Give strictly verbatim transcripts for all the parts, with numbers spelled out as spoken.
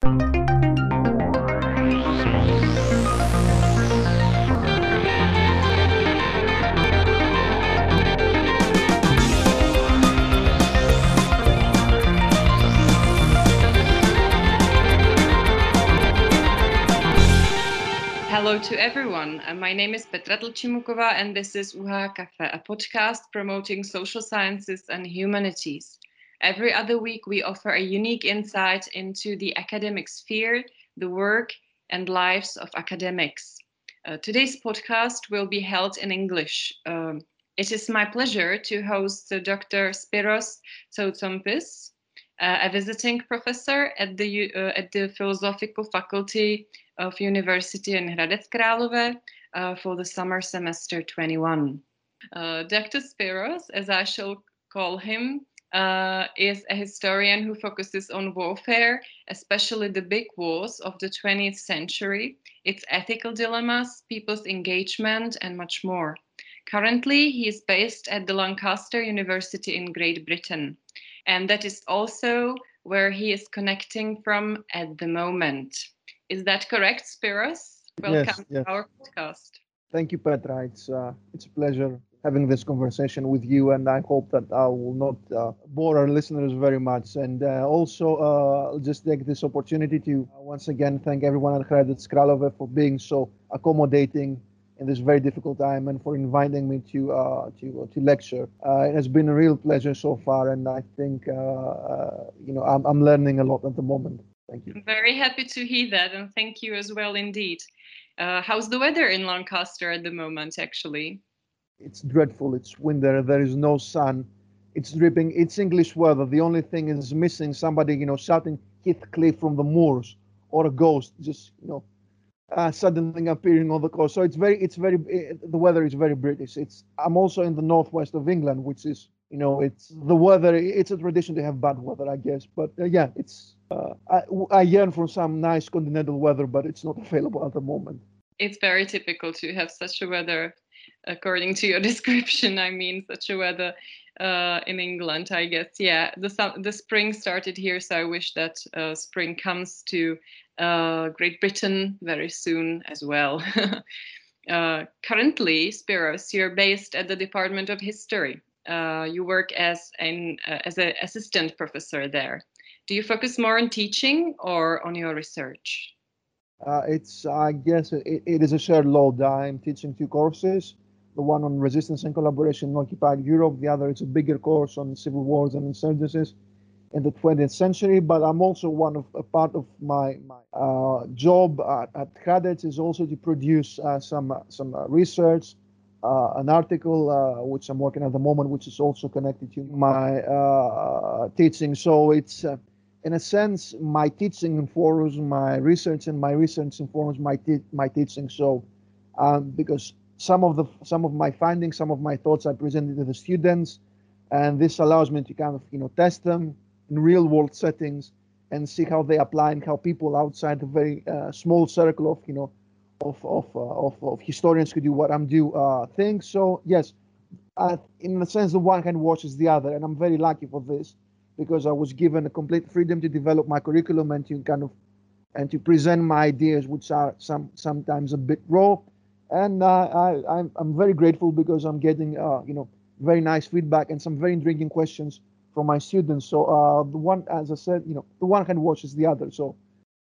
Hello to everyone. Uh, my name is Petra Tlčimukova, and this is U H Cafe, a podcast promoting social sciences and humanities. Every other week, we offer a unique insight into the academic sphere, the work and lives of academics. Uh, today's podcast will be held in English. Um, it is my pleasure to host uh, Doctor Spiros Tsoutsompis, uh, a visiting professor at the, uh, at the Philosophical Faculty of University in Hradec Králové uh, for the summer semester twenty-one. Uh, Doctor Spiros, as I shall call him, uh, is a historian who focuses on warfare, especially the big wars of the twentieth century, its ethical dilemmas, people's engagement, and much more. Currently, he is based at the Lancaster University in Great Britain, and that is also where he is connecting from at the moment. Is that correct, Spiros? Welcome Yes, yes. to our podcast. Thank you, Petra. It's uh, it's a pleasure having this conversation with you, and I hope that I will not uh, bore our listeners very much. And uh, also, uh, just take this opportunity to uh, once again thank everyone at Hradec Králové for being so accommodating in this very difficult time, and for inviting me to uh, to uh, to lecture. Uh, it has been a real pleasure so far, and I think uh, uh, you know I'm I'm learning a lot at the moment. Thank you. I'm very happy to hear that, and thank you as well indeed. Uh, how's the weather in Lancaster at the moment, actually? It's dreadful. It's winter. There is no sun. It's dripping. It's English weather. The only thing is missing somebody, you know, shouting Heathcliff from the moors, or a ghost just, you know, uh, suddenly appearing on the coast. So it's very, it's very, uh, the weather is very British. It's. I'm also in the northwest of England, which is, you know, it's the weather. It's a tradition to have bad weather, I guess. But uh, yeah, it's. Uh, I, I yearn for some nice continental weather, but it's not available at the moment. It's very typical to have such a weather, according to your description. I mean, such a weather uh, in England, I guess. Yeah, the the spring started here, so I wish that uh, spring comes to uh, Great Britain very soon as well. uh, currently, Spiros, you're based at the Department of History. Uh, you work as an uh, as an assistant professor there. Do you focus more on teaching or on your research? Uh, it's, I guess, it, it is a shared load. I'm teaching two courses. The one on resistance and collaboration in occupied Europe. The other is a bigger course on civil wars and insurgencies in the twentieth century. But I'm also one of a part of my my uh, job at, at Hradec is also to produce uh, some uh, some uh, research, uh, an article uh, which I'm working at the moment, which is also connected to my uh, teaching. So it's. Uh, in a sense, my teaching informs my research, and my research informs my te- my teaching. So, um, because some of the some of my findings, some of my thoughts, I presented to the students, and this allows me to kind of you know test them in real world settings and see how they apply, and how people outside the very uh, small circle of you know of of, uh, of of historians who do what I'm do uh, think. So yes, uh, in a sense, the one hand washes the other, and I'm very lucky for this because I was given a complete freedom to develop my curriculum and to kind of and to present my ideas, which are some sometimes a bit raw. And uh, I, I'm I'm very grateful because I'm getting uh, you know very nice feedback and some very intriguing questions from my students. So uh, the one, as I said, you know, the one hand washes the other. So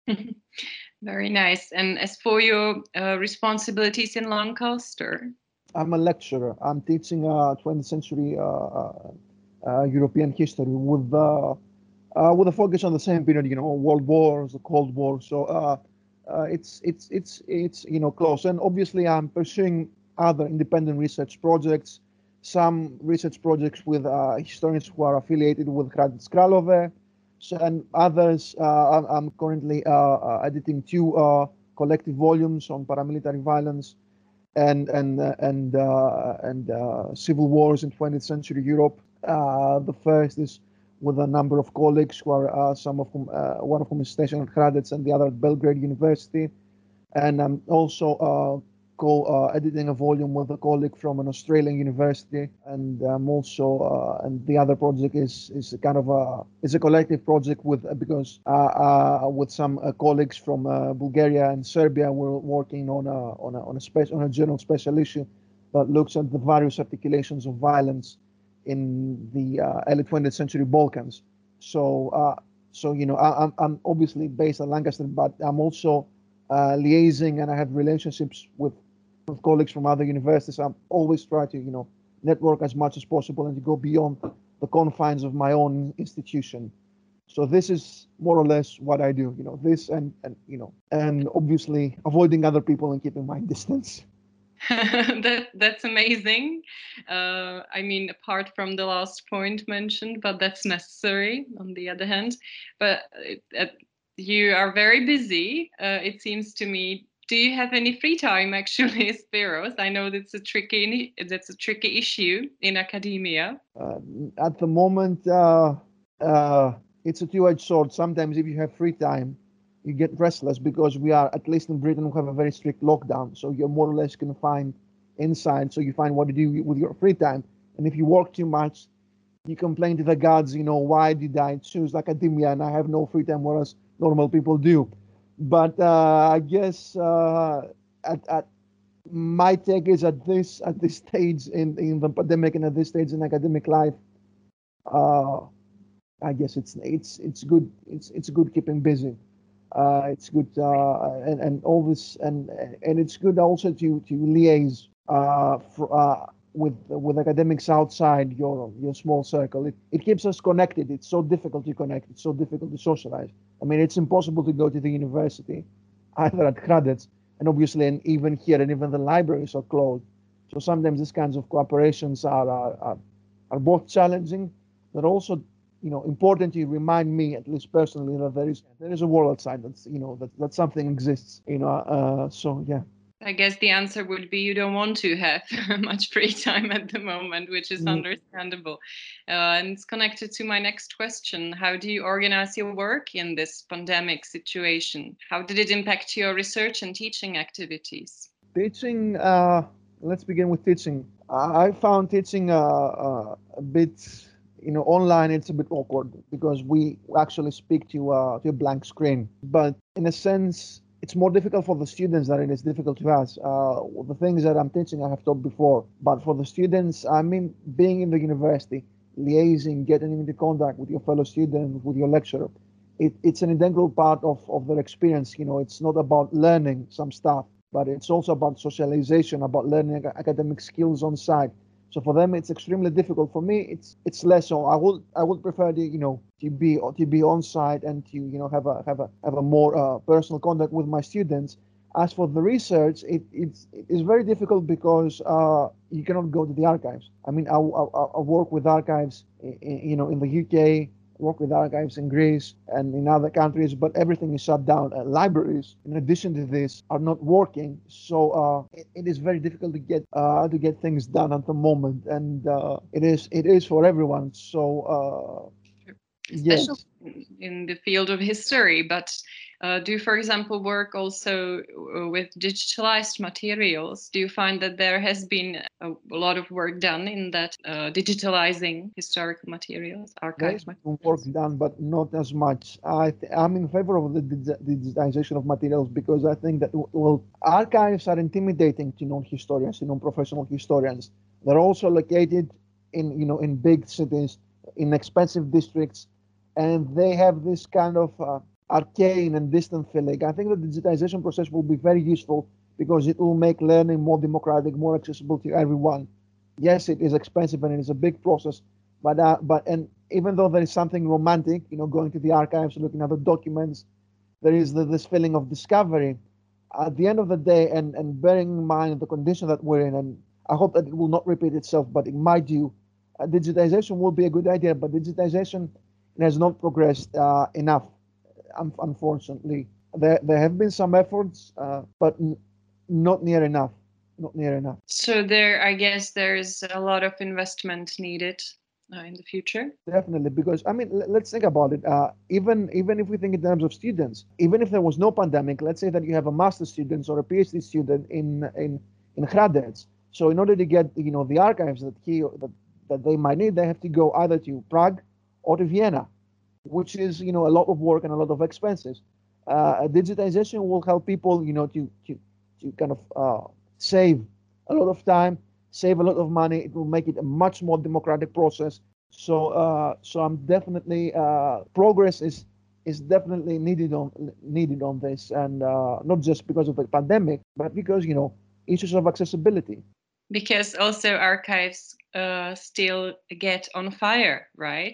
Very nice. And as for your uh, responsibilities in Lancaster? I'm a lecturer. I'm teaching uh, twentieth century uh, uh, uh, European history with uh, uh, with a focus on the same period, you know, World Wars, the Cold War. So uh, uh, it's it's it's it's you know close. And obviously, I'm pursuing other independent research projects, some research projects with uh, historians who are affiliated with Hradec Králové, so, and others. Uh, I'm, I'm currently uh, uh, editing two uh, collective volumes on paramilitary violence and and uh, and uh, and uh, civil wars in twentieth century Europe. Uh, the first is with a number of colleagues who are uh, some of whom uh, one of whom is stationed at Hradec and the other at Belgrade University, and I'm also uh, co-editing a volume with a colleague from an Australian university, and I'm also uh, and the other project is is a kind of a is a collective project with because uh, uh, with some uh, colleagues from uh, Bulgaria and Serbia. We're working on a on a on a special on a journal special issue that looks at the various articulations of violence in the uh, early twentieth century Balkans. So, uh, so you know, I, I'm I'm obviously based at Lancaster, but I'm also uh, liaising and I have relationships with, with colleagues from other universities. I'm always try to you know network as much as possible and to go beyond the confines of my own institution. So this is more or less what I do. You know, this and and you know, and obviously avoiding other people and keeping my distance. that that's amazing. Uh, I mean, apart from the last point mentioned, but that's necessary on the other hand. But uh, you are very busy. Uh, it seems to me. Do you have any free time, actually, Spiros? I know that's a tricky that's a tricky issue in academia. Uh, at the moment, uh, uh, it's a two-edged sword. Sometimes, if you have free time, you get restless because we are, at least in Britain, we have a very strict lockdown. So you're more or less confined inside. So you find what to do with your free time. And if you work too much, you complain to the gods, you know, why did I choose academia and I have no free time, whereas normal people do. But uh, I guess uh, at, at my take is at this at this stage in, in the pandemic and at this stage in academic life, uh, I guess it's it's it's good it's it's good keeping busy. Uh, it's good uh, and and all this and and it's good also to to liaise uh, for, uh, with with academics outside your your small circle. It it keeps us connected. It's so difficult to connect. It's so difficult to socialize. I mean, it's impossible to go to the university, either at Hradec, and obviously, and even here, and even the libraries are closed. So sometimes these kinds of cooperations are are, are, are both challenging, but also you know important to remind me, at least personally, that there is there is a world outside that's you know that that something exists. You know, uh, so yeah. I guess the answer would be you don't want to have much free time at the moment, which is understandable. Uh, and it's connected to my next question. How do you organize your work in this pandemic situation? How did it impact your research and teaching activities? Teaching, uh, let's begin with teaching. I found teaching uh, uh, a bit, you know, online. It's a bit awkward because we actually speak to uh, to a blank screen. But in a sense, it's more difficult for the students than it is difficult to us. Uh, the things that I'm teaching, I have taught before. But for the students, I mean, being in the university, liaising, getting into contact with your fellow students, with your lecturer, it, it's an integral part of, of their experience. You know, it's not about learning some stuff, but it's also about socialization, about learning academic skills on site. So for them, it's extremely difficult. For me, it's it's less so. I would I would prefer to you know to be to be on site and to you know have a have a have a more uh, personal contact with my students. As for the research, it it's it is very difficult because uh, you cannot go to the archives. I mean, I, I, I work with archives, in, you know, in the U K, work with archives in Greece and in other countries, but everything is shut down. Uh, libraries, in addition to this, are not working, so uh, it, it is very difficult to get uh, to get things done at the moment, and uh, it is it is for everyone. So uh, Especially yes. in the field of history, but uh, do you, for example, work also uh, with digitalized materials? Do you find that there has been a, a lot of work done in that uh, digitalizing historical materials, There archive is work materials? done, but not as much. I th- I'm in favor of the digi- digitization of materials because I think that well, archives are intimidating to non-historians, to non-professional historians. They're also located in you know in big cities, in expensive districts, and they have this kind of uh, arcane and distant feeling. I think the digitization process will be very useful because it will make learning more democratic, more accessible to everyone. Yes, it is expensive and it is a big process, but uh, but and even though there is something romantic, you know, going to the archives, looking at the documents, there is the, this feeling of discovery. At the end of the day, and and bearing in mind the condition that we're in, and I hope that it will not repeat itself, but it might do. Uh, digitization will be a good idea, but digitization has not progressed uh, enough, um, unfortunately. There there have been some efforts, uh, but n- not near enough. Not near enough. So there, I guess there's a lot of investment needed uh, in the future? Definitely, because I mean, l- let's think about it. Uh, even even if we think in terms of students, even if there was no pandemic, let's say that you have a master student or a PhD student in in in Hradec. So in order to get you know the archives that he that, that they might need, they have to go either to Prague or to Vienna, which is you know a lot of work and a lot of expenses. Uh, digitization will help people you know to to to kind of uh, save a lot of time, save a lot of money. It will make it a much more democratic process. So uh, so I'm definitely uh, progress is is definitely needed on needed on this, and uh, not just because of the pandemic, but because you know issues of accessibility. Because also archives uh, still get on fire, right?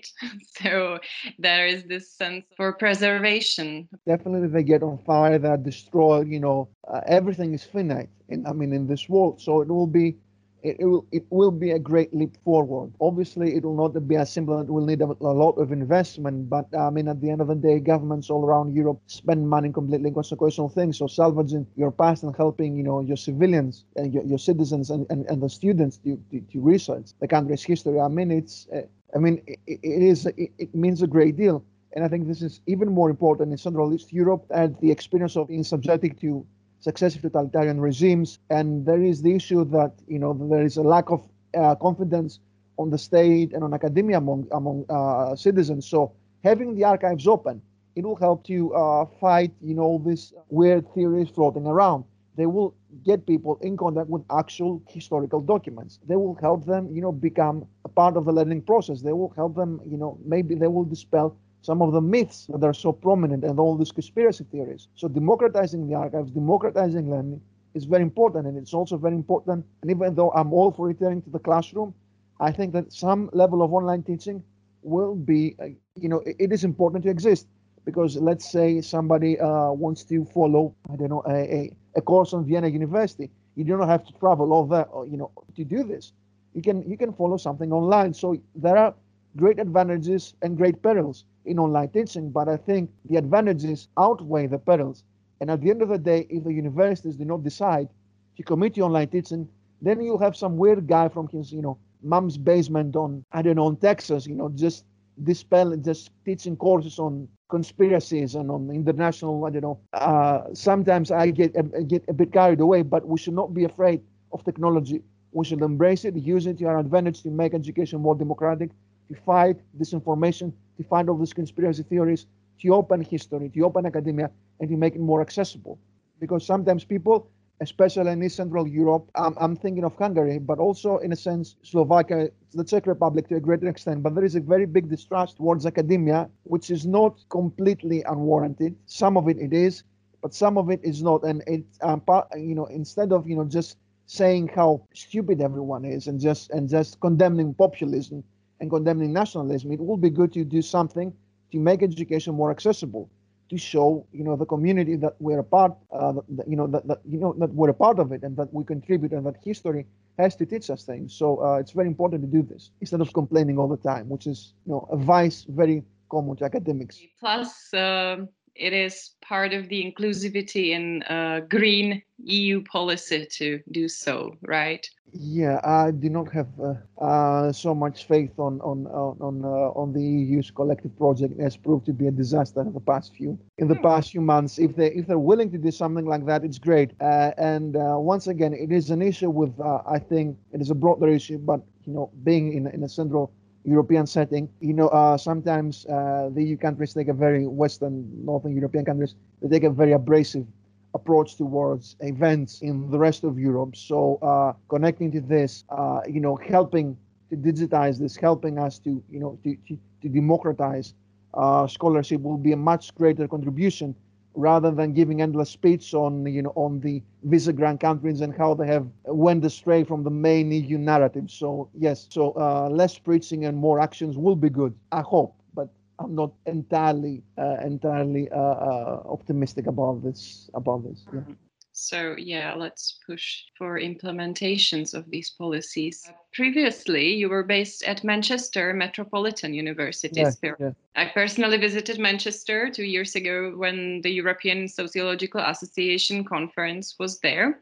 So there is this sense for preservation. Definitely they get on fire, that destroy, you know, uh, everything is finite. In, I mean, in this world. So it will be, it, it will, it will be a great leap forward. Obviously, it will not be as simple. It will need a, a lot of investment. But I mean, at the end of the day, governments all around Europe spend money completely on consequential things. So salvaging your past and helping, you know, your civilians and your, your citizens and, and, and the students to, to, to research the country's history. I mean, it's, uh, I mean, it, it is, it, it means a great deal. And I think this is even more important in Central East Europe and the experience of being subjected to successive totalitarian regimes. And there is the issue that, you know, there is a lack of uh, confidence on the state and on academia among, among uh, citizens. So having the archives open, it will help to uh, fight, you know, these weird theories floating around. They will get people in contact with actual historical documents. They will help them, you know, become a part of the learning process. They will help them, you know, maybe they will dispel some of the myths that are so prominent and all these conspiracy theories. So democratizing the archives, democratizing learning is very important, and it's also very important. And even though I'm all for returning to the classroom, I think that some level of online teaching will be, uh, you know, it, it is important to exist, because let's say somebody uh, wants to follow, I don't know, a, a, a course on Vienna University. You don't have to travel all that, uh, you know, to do this. You can you can follow something online. So there are great advantages and great perils in online teaching, but I think the advantages outweigh the perils. And at the end of the day, if the universities do not decide to commit to online teaching, then you'll have some weird guy from his, you know, mom's basement on, I don't know, in Texas, you know, just dispel, just teaching courses on conspiracies and on international, I don't know. Uh, sometimes I get, I get a bit carried away, but we should not be afraid of technology. We should embrace it, use it to our advantage to make education more democratic, to fight disinformation, to find all these conspiracy theories, to open history, to open academia, and to make it more accessible. Because sometimes people, especially in East Central Europe, I'm, I'm thinking of Hungary, but also in a sense Slovakia, the Czech Republic to a greater extent, but there is a very big distrust towards academia, which is not completely unwarranted. Some of it it is, but some of it is not. And it, um, you know, instead of, you know, just saying how stupid everyone is and just and just condemning populism and condemning nationalism, it will be good to do something to make education more accessible, to show, you know, the community that we're a part, uh, that, you know, that, that you know that we're a part of it and that we contribute and that history has to teach us things. So uh, it's very important to do this instead of complaining all the time, which is, you know, a vice very common to academics. Plus, um, it is part of the inclusivity in uh, green E U policy to do so, right? Yeah, I do not have uh, uh, so much faith on on on on, uh, on the E U's collective project. It has proved to be a disaster in the past few in the past few months. If they if they're willing to do something like that, it's great. Uh, and uh, once again, it is an issue with uh, I think it is a broader issue, but you know, being in in a central European setting, you know, uh, sometimes uh, the E U countries take a very Western, Northern European countries, they take a very abrasive approach towards events in the rest of Europe. So uh, connecting to this, uh, you know, helping to digitize this, helping us to, you know, to, to, to democratize uh, scholarship will be a much greater contribution, rather than giving endless speech on, you know, on the Visegrad countries and how they have went astray from the main E U narrative. So yes, so uh, less preaching and more actions will be good, I hope. But I'm not entirely uh, entirely uh, uh, optimistic about this about this. Yeah. So yeah, let's push for implementations of these policies. Uh, previously, you were based at Manchester Metropolitan University, Yeah, Spiro. yeah. I personally visited Manchester two years ago when the European Sociological Association conference was there.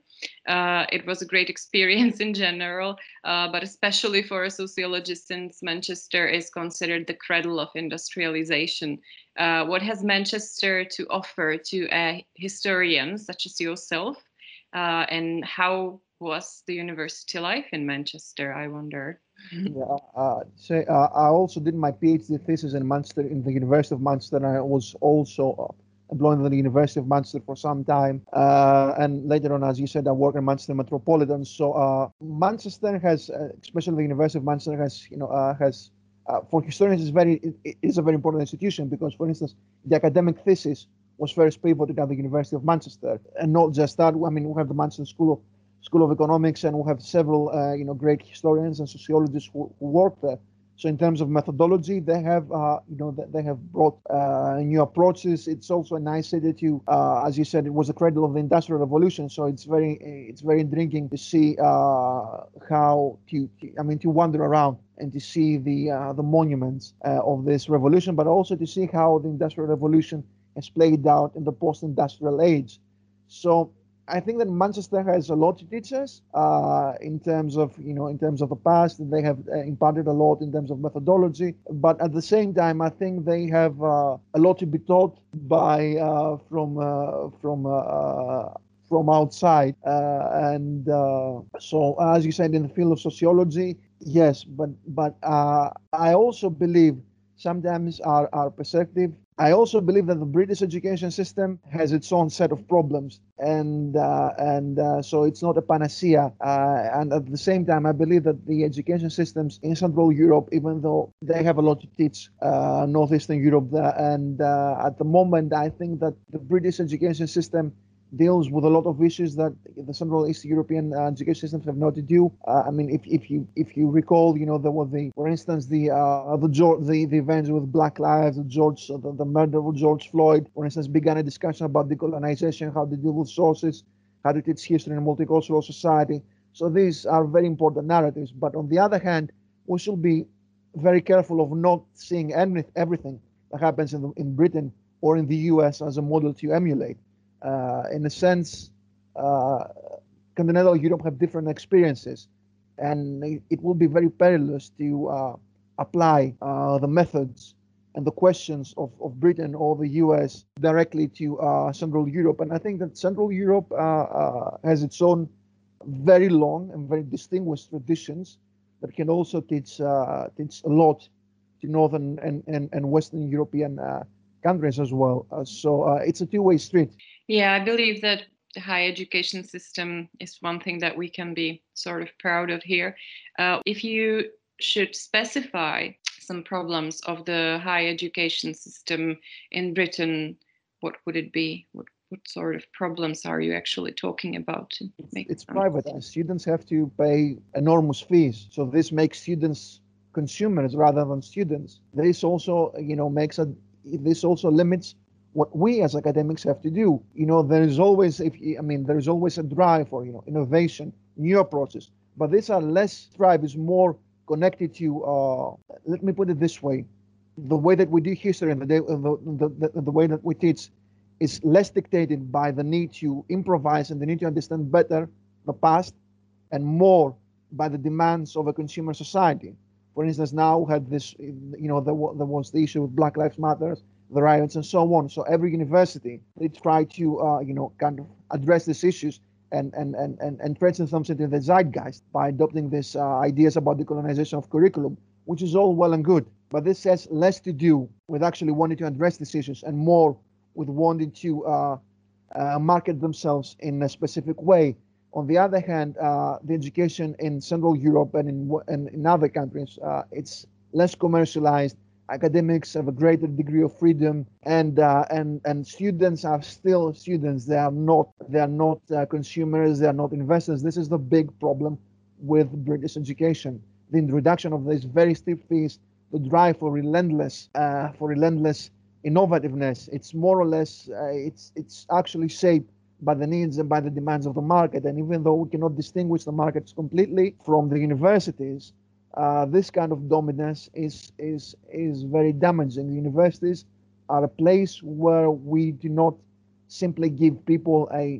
Uh, it was a great experience in general, uh, but especially for a sociologist, since Manchester is considered the cradle of industrialization. Uh, what has Manchester to offer to a historian such as yourself? Uh, and how was the university life in Manchester, I wonder? Yeah, uh, say, uh, I also did my PhD thesis in Manchester, in the University of Manchester, and I was also uh, employed at the University of Manchester for some time. Uh, and later on, as you said, I work in Manchester Metropolitan. So uh, Manchester has, uh, especially the University of Manchester, has, you know, uh, has uh, for historians, is very, it, it is a very important institution because, for instance, the academic thesis was first pivoted at the University of Manchester, and not just that. I mean, we have the Manchester School of School of Economics, and we have several, uh, you know, great historians and sociologists who, who work there. So in terms of methodology, they have, uh, you know, they have brought uh, new approaches. It's also a nice city to, uh, as you said, it was the cradle of the Industrial Revolution. So it's very, it's very intriguing to see uh, how to, I mean, to wander around and to see the uh, the monuments uh, of this revolution, but also to see how the Industrial Revolution has played out in the post-industrial age. So I think that Manchester has a lot to teach us uh, in terms of, you know, in terms of the past. They have uh, imparted a lot in terms of methodology, but at the same time, I think they have uh, a lot to be taught by uh, from uh, from uh, uh, from outside. Uh, and uh, so, as you said, in the field of sociology, yes, but but uh, I also believe sometimes our our perspective. I also believe that the British education system has its own set of problems, and uh, and uh, so it's not a panacea. Uh, and at the same time, I believe that the education systems in Central Europe, even though they have a lot to teach uh, Northeastern Europe, there, and uh, at the moment, I think that the British education system deals with a lot of issues that the Central East European uh, education systems have not to do. Uh, I mean, if, if you if you recall, you know, there was the, for instance, the uh, the, the the events with Black Lives, the George, the, the murder of George Floyd, for instance, began a discussion about decolonization, how to deal with sources, how to teach history in a multicultural society. So these are very important narratives. But on the other hand, we should be very careful of not seeing any, everything that happens in, the, in Britain or in the U S as a model to emulate. Uh, in a sense, uh, continental Europe have different experiences, and it will be very perilous to uh, apply uh, the methods and the questions of, of Britain or the U S directly to uh, Central Europe. And I think that Central Europe uh, uh, has its own very long and very distinguished traditions that can also teach uh, teach a lot to Northern and, and, and Western European uh, countries as well. Uh, so uh, it's a two-way street. Yeah, I believe that the higher education system is one thing that we can be sort of proud of here. Uh, if you should specify some problems of the higher education system in Britain, what would it be? What, what sort of problems are you actually talking about? To make It's privatized. Students have to pay enormous fees. So this makes students consumers rather than students. This also, you know, makes a, this also limits what we as academics have to do. You know, there is always, if I mean, there is always a drive for, you know, innovation, new approaches. But these are less drive, is more connected to. Uh, let me put it this way: the way that we do history and the, the, the, the way that we teach is less dictated by the need to improvise and the need to understand better the past, and more by the demands of a consumer society. For instance, now we had this, you know, there, there was the issue with Black Lives Matter, the riots, and so on. So every university, they try to, uh, you know, kind of address these issues and and and and, and transcend them into the zeitgeist by adopting these uh, ideas about decolonization of curriculum, which is all well and good. But this has less to do with actually wanting to address these issues and more with wanting to uh, uh, market themselves in a specific way. On the other hand, uh, the education in Central Europe and in, and in other countries, uh, it's less commercialized. Academics have a greater degree of freedom, and uh, and and students are still students. They are not they are not uh, consumers. They are not investors. This is the big problem with British education: the introduction of these very steep fees, the drive for relentless uh, for relentless innovativeness. It's more or less uh, it's it's actually shaped by the needs and by the demands of the market. And even though we cannot distinguish the markets completely from the universities, uh, this kind of dominance is is is very damaging. The universities are a place where we do not simply give people a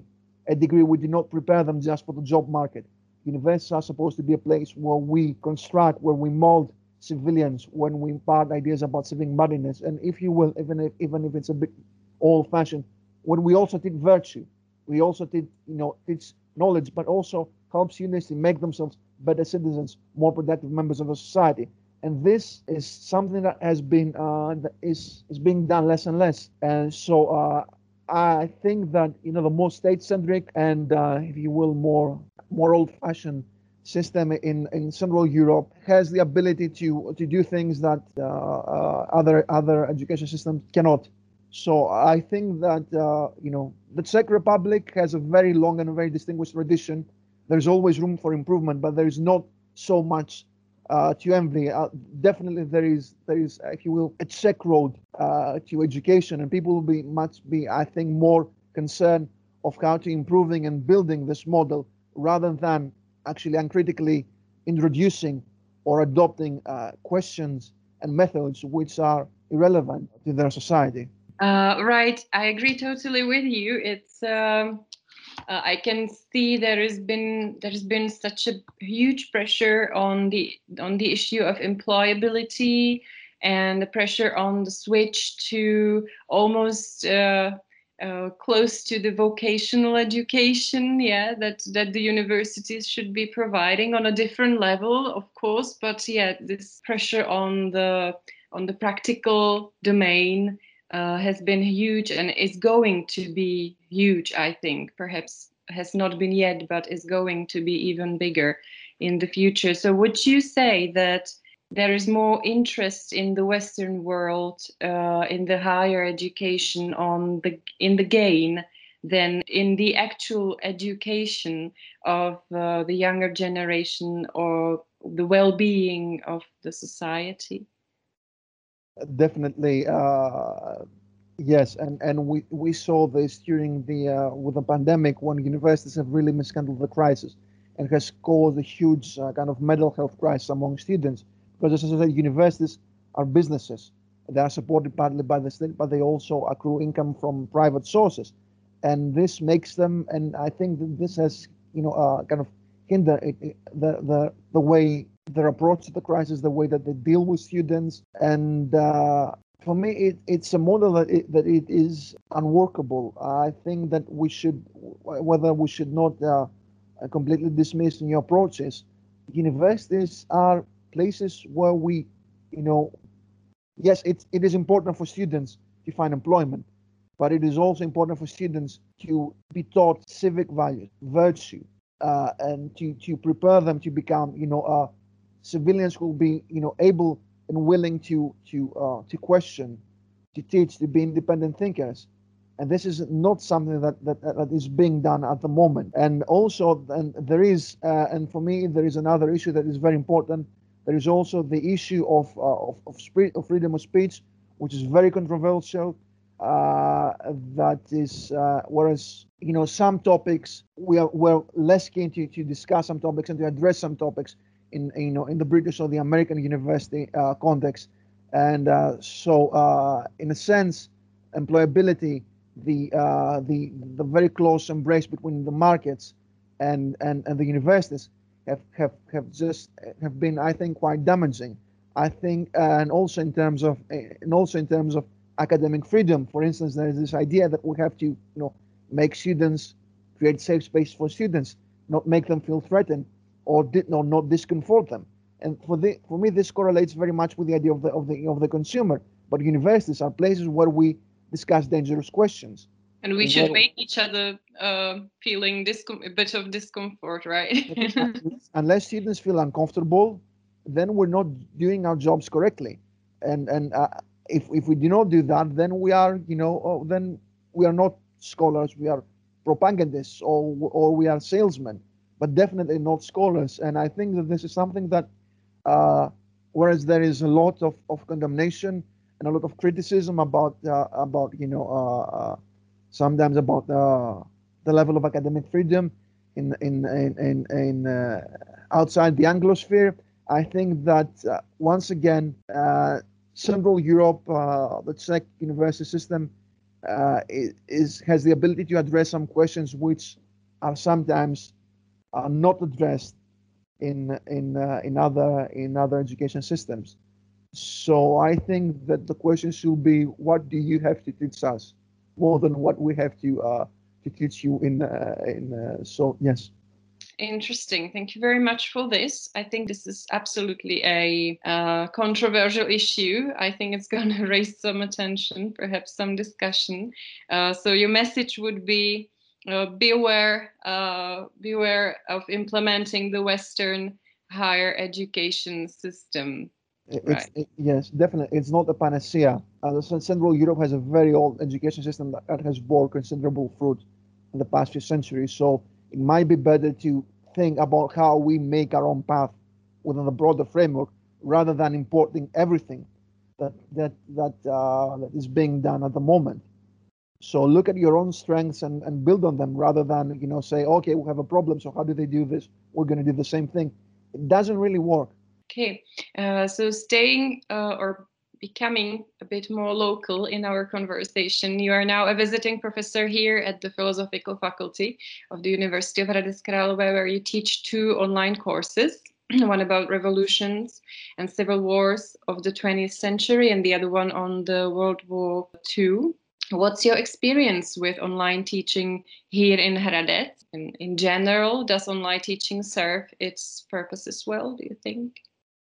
a degree, we do not prepare them just for the job market. Universities are supposed to be a place where we construct, where we mold civilians, when we impart ideas about civic manliness, and if you will, even if even if it's a bit old-fashioned, when we also teach virtue, we also teach, you know, teach knowledge, but also help students to make themselves better citizens, more productive members of a society. And this is something that has been uh, that is is being done less and less. And so uh, I think that, you know, the more state-centric and, uh, if you will, more more old-fashioned system in, in Central Europe has the ability to to do things that uh, uh, other other education systems cannot. So I think that, uh, you know, the Czech Republic has a very long and very distinguished tradition. There's always room for improvement, but there is not so much uh, to envy. Uh, definitely, there is there is, if you will, a Czech road uh, to education, and people will be much be, I think, more concerned of how to improving and building this model rather than actually uncritically introducing or adopting uh, questions and methods which are irrelevant to their society. Uh, right, I agree totally with you. It's um, uh, I can see there has been there has been such a huge pressure on the on the issue of employability and the pressure on the switch to almost uh, uh, close to the vocational education, yeah, that that the universities should be providing on a different level, of course. But yeah, this pressure on the on the practical domain uh, has been huge and is going to be huge, I think. Perhaps has not been yet, but is going to be even bigger in the future. So would you say that there is more interest in the Western world uh, in the higher education on the in the gain than in the actual education of uh, the younger generation or the well-being of the society? Definitely, uh, yes, and and we we saw this during the uh, with the pandemic when universities have really mishandled the crisis, and has caused a huge uh, kind of mental health crisis among students. Because, as I said, universities are businesses. They are supported partly by the state, but they also accrue income from private sources, and this makes them. And I think that this has, you know, uh, kind of hinder it, it, the the the way their approach to the crisis, the way that they deal with students, and uh, for me, it, it's a model that it, that it is unworkable. I think that we should, whether we should not uh, completely dismiss new approaches. Universities are places where we, you know, yes, it's it is important for students to find employment, but it is also important for students to be taught civic values, virtue, uh, and to to prepare them to become, you know, uh, civilians who will be, you know, able and willing to to uh, to question, to teach, to be independent thinkers. And this is not something that, that, that is being done at the moment. And also, and there is, uh, and for me, there is another issue that is very important. There is also the issue of uh, of of, spe- of freedom of speech, which is very controversial. Uh, that is, uh, whereas, you know, some topics we are we're less keen to, to discuss some topics and to address some topics in, you know, in the British or the American university uh, context. And uh, so, uh, in a sense, employability, the uh, the the very close embrace between the markets and and, and the universities have, have have just have been, I think, quite damaging. I think, uh, and also in terms of and also in terms of academic freedom. For instance, there is this idea that we have to, you know, make students, create safe space for students, not make them feel threatened, or did or not discomfort them. And for the for me, this correlates very much with the idea of the of the of the consumer. But universities are places where we discuss dangerous questions. And we should make each other uh, feeling discom- a bit of discomfort, right? unless, unless students feel uncomfortable, then we're not doing our jobs correctly. And and uh, if if we do not do that, then we are, you know, oh, then we are not scholars. We are propagandists, or or we are salesmen, but definitely not scholars. And I think that this is something that, uh, whereas there is a lot of, of condemnation and a lot of criticism about uh, about, you know, uh, uh, sometimes about uh, the level of academic freedom in in in in, in uh, outside the Anglosphere. I think that uh, once again, uh, Central Europe, uh, the Czech university system, uh, is has the ability to address some questions which are sometimes are not addressed in in uh, in other in other education systems. So I think that the question should be, what do you have to teach us, more than what we have to uh, to teach you in uh, in. Uh, so yes. Interesting. Thank you very much for this. I think this is absolutely a uh, controversial issue. I think it's going to raise some attention, perhaps some discussion. Uh, so your message would be uh, beware, uh, beware of implementing the Western higher education system. It's Right. it, yes, definitely. It's not a panacea. Uh, Central Europe has a very old education system that, that has bore considerable fruit in the past few centuries. So it might be better to think about how we make our own path within the broader framework, rather than importing everything that that that uh, that is being done at the moment. So look at your own strengths and, and build on them, rather than, you know, say, okay, we have a problem, so how do they do this? We're going to do the same thing. It doesn't really work. Okay, uh, so staying uh, or becoming a bit more local in our conversation, you are now a visiting professor here at the Philosophical Faculty of the University of Hradec Králové, where you teach two online courses, one about revolutions and civil wars of the twentieth century, and the other one on the World War Two. What's your experience with online teaching here in Hradec? In, in general, does online teaching serve its purposes well, do you think?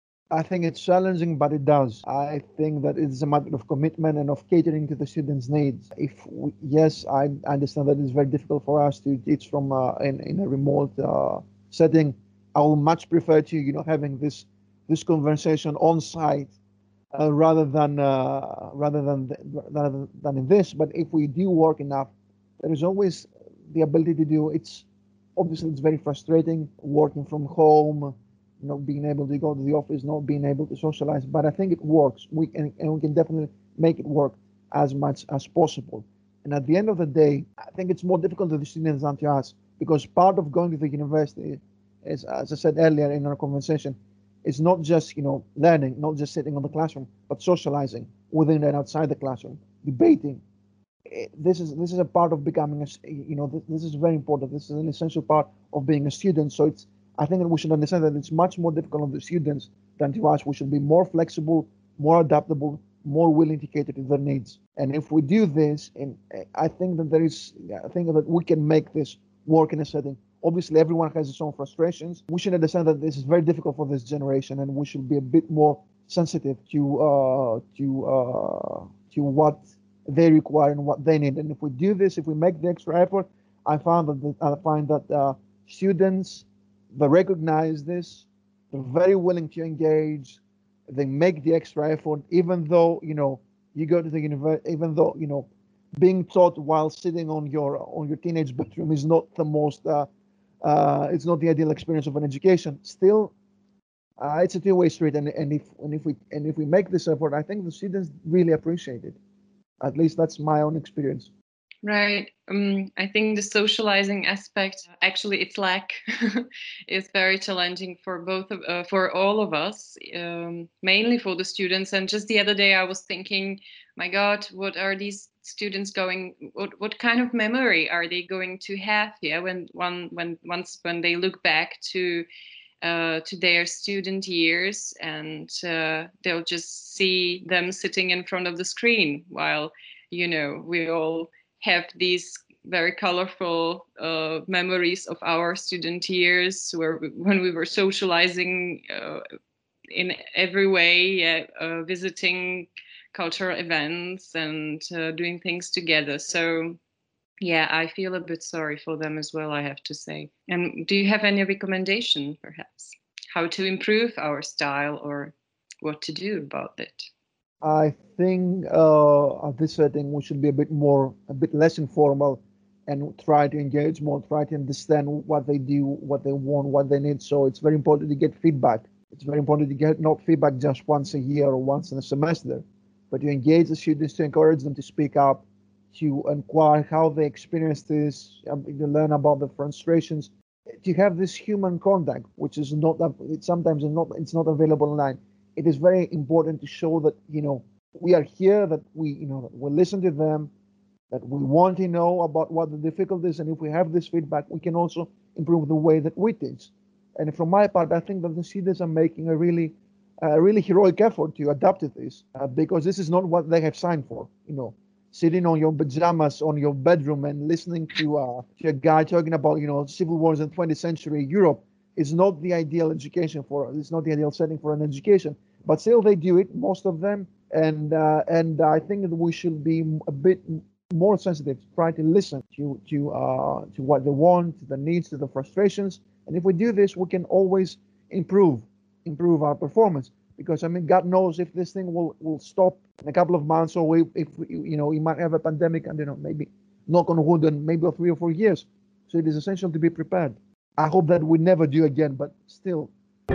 I think it's challenging, but it does. I think that it's a matter of commitment and of catering to the students' needs. If we, yes, I understand that it's very difficult for us to teach from uh, in in a remote uh, setting. I will much prefer to, you know, having this this conversation on site uh, rather than uh, rather than rather than in this. But if we do work enough, there is always the ability to do. It's obviously it's very frustrating working from home, not being able to go to the office, not being able to socialize. But I think it works. We can and we can definitely make it work as much as possible. And at the end of the day, I think it's more difficult to the students than to us, because part of going to the university is, as I said earlier in our conversation, it's not just, you know, learning, not just sitting on the classroom, but socializing within and outside the classroom, debating. Eh, This is this is a part of becoming a, you know, this, this is very important. This is an essential part of being a student. So it's, I think that we should understand that it's much more difficult on the students than to us. We should be more flexible, more adaptable, more willing to cater to their needs. And if we do this, and eh, I think that there is, I think that we can make this work in a setting. Obviously, everyone has its own frustrations. We should understand that this is very difficult for this generation, and we should be a bit more sensitive to uh, to uh, to what they require and what they need. And if we do this, if we make the extra effort, I found that the, I find that uh, students, they recognize this, they're very willing to engage, they make the extra effort, even though, you know, you go to the university, even though, you know, being taught while sitting on your on your teenage bedroom is not the most uh, uh, it's not the ideal experience of an education. Still, uh, it's a two-way street, and, and if and if we and if we make this effort, I think the students really appreciate it. At least that's my own experience. Right. Um, I think the socializing aspect, actually, its lack is very challenging for both of, uh, for all of us, um, mainly for the students. And just the other day, I was thinking, my God, what are these students going? What what kind of memory are they going to have here when one when once when they look back to uh, to their student years, and uh, they'll just see them sitting in front of the screen while, you know, we all have these very colorful uh, memories of our student years, where we, when we were socializing uh, in every way, uh, uh, visiting cultural events and uh, doing things together. So yeah, I feel a bit sorry for them as well, I have to say. And do you have any recommendation, perhaps, how to improve our style or what to do about it? I think uh, at this setting we should be a bit more, a bit less informal, and try to engage more, try to understand what they do, what they want, what they need. So it's very important to get feedback. It's very important to get not feedback just once a year or once in a semester, but to engage the students, to encourage them to speak up, to inquire how they experience this, um, to learn about the frustrations, to have this human contact, which is not, it's sometimes not, it's not available online. It is very important to show that, you know, we are here, that we, you know, we listen to them, that we want to know about what the difficulties, and if we have this feedback, we can also improve the way that we teach. And from my part, I think that the students are making a really, a really heroic effort to adapt to this, uh, because this is not what they have signed for. You know, sitting on your pajamas on your bedroom and listening to uh, to a guy talking about you know civil wars in twentieth century Europe is not the ideal education for us. It's not the ideal setting for an education. But still, they do it, most of them, and uh, and I think that we should be a bit more sensitive, try to listen to to uh, to what they want, to the needs, to the frustrations. And if we do this, we can always improve improve our performance. Because I mean, God knows if this thing will will stop in a couple of months, or we, if we, you know, we might have a pandemic, and you know, maybe knock on wood, and maybe three or four years. So it is essential to be prepared. I hope that we never do again, but still.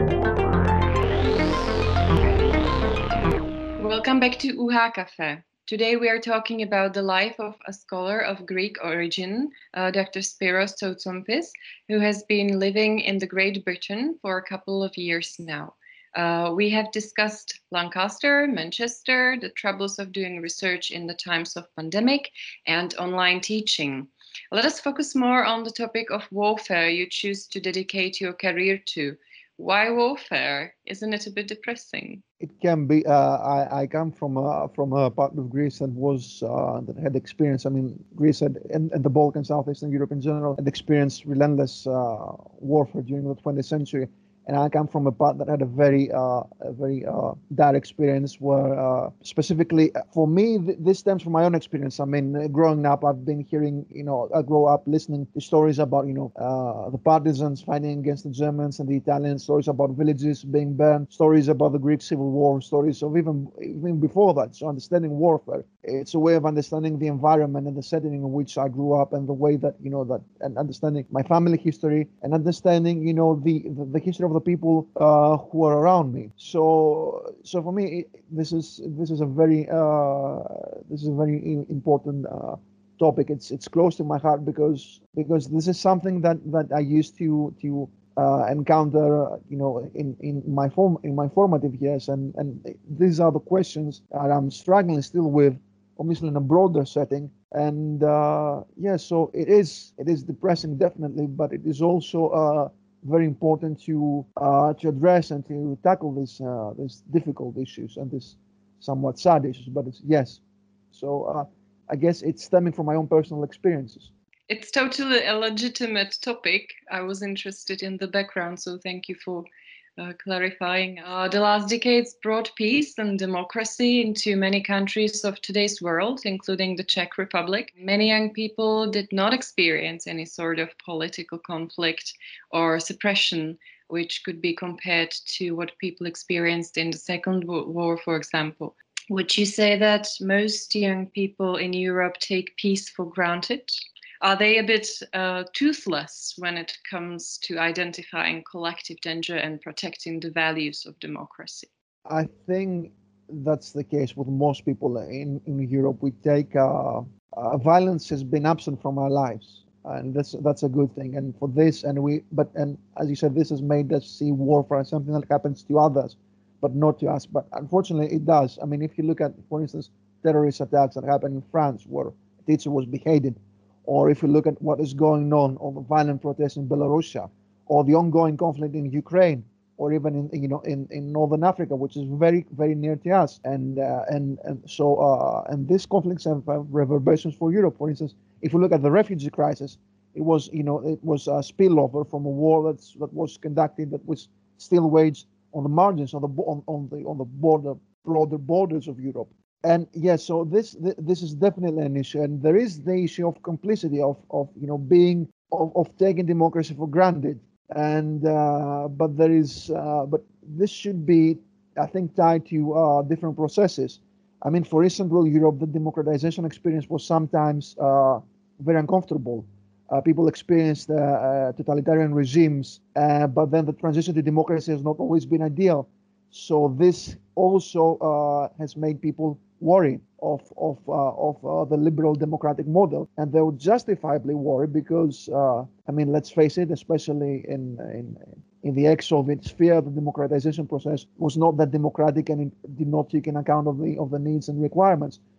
Welcome back to U H A Cafe. Today we are talking about the life of a scholar of Greek origin, uh, Doctor Spiros Tsotsompis, who has been living in the Great Britain for a couple of years now. Uh, we have discussed Lancaster, Manchester, the troubles of doing research in the times of pandemic, and online teaching. Let us focus more on the topic of warfare you choose to dedicate your career to. Why warfare? Isn't it a bit depressing? It can be. Uh, I, I come from a, from a part of Greece that was uh, that had experience. I mean, Greece had, and, and the Balkans, Southeastern Europe in general, had experienced relentless uh, warfare during the twentieth century. And I come from a part that had a very, uh, a very uh, bad experience where, uh, specifically for me, th- this stems from my own experience. I mean, uh, growing up, I've been hearing, you know, I grew up listening to stories about, you know, uh, the partisans fighting against the Germans and the Italians, stories about villages being burned, stories about the Greek Civil War, stories of even, even before that. So understanding warfare, it's a way of understanding the environment and the setting in which I grew up, and the way that, you know, that, and understanding my family history, and understanding, you know, the, the, the history of the people uh, who are around me. So, so for me, this is this is a very uh, this is a very important uh, topic. It's it's close to my heart because because this is something that, that I used to to uh, encounter, you know, in, in my form in my formative years, and and these are the questions that I'm struggling still with, obviously in a broader setting. And uh, yeah, so it is it is depressing, definitely, but it is also uh, very important to uh, to address and to tackle these uh, these difficult issues and these somewhat sad issues. But it's yes, so uh, I guess it's stemming from my own personal experiences. It's totally a legitimate topic. I was interested in the background, so thank you for uh, clarifying. Uh, the last decades brought peace and democracy into many countries of today's world, including the Czech Republic. Many young people did not experience any sort of political conflict or suppression, which could be compared to what people experienced in the Second World War, for example. Would you say that most young people in Europe take peace for granted? Are they a bit uh, toothless when it comes to identifying collective danger and protecting the values of democracy? I think that's the case with most people in, in Europe. We take uh, uh, violence has been absent from our lives, and that's that's a good thing. And for this, and we, but and as you said, this has made us see warfare as something that happens to others, but not to us. But unfortunately, it does. I mean, if you look at, for instance, terrorist attacks that happened in France, where a teacher was beheaded, or if you look at what is going on, or the violent protests in Belarus, or the ongoing conflict in Ukraine, or even in you know in, in northern Africa, which is very very near to us, and uh, and and so uh, and these conflicts have, have reverberations for Europe. For instance, if we look at the refugee crisis, it was you know it was a spillover from a war that's that was conducted, that was still waged on the margins, on the on, on the on the border broader borders of Europe. And yes, yeah, so this this is definitely an issue, and there is the issue of complicity, of of you know being of, of taking democracy for granted. And uh, but there is uh, but this should be, I think, tied to uh, different processes. I mean, for Eastern Europe, the democratization experience was sometimes uh, very uncomfortable. Uh, people experienced uh, uh, totalitarian regimes, uh, but then the transition to democracy has not always been ideal. So this also uh, has made people worry of of uh, of uh, the liberal democratic model, and they would justifiably worry because uh, I mean, let's face it, especially in in in the ex-Soviet sphere, the democratization process was not that democratic, and it did not take in account of the of the needs and requirements